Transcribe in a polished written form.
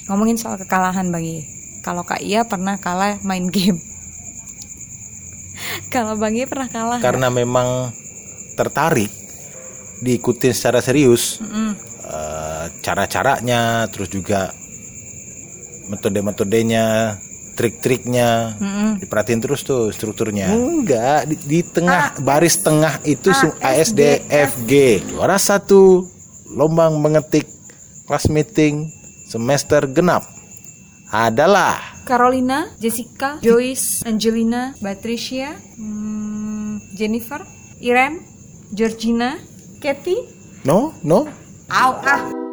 ngomongin soal kekalahan Bang Iye. Kalau Kak Iya pernah kalah main game. Kalau Bang Iye pernah kalah karena memang tertarik diikutin secara serius. Cara-caranya, terus juga metode-metodenya, trik-triknya, diperhatiin terus tuh strukturnya. Enggak, di tengah baris tengah itu ASDFG. Juara 1 lomba mengetik kelas meeting semester genap adalah Carolina, Jessica, Joyce, Angelina, Patricia, Jennifer, Irem, Georgina, Kathy. no. Au,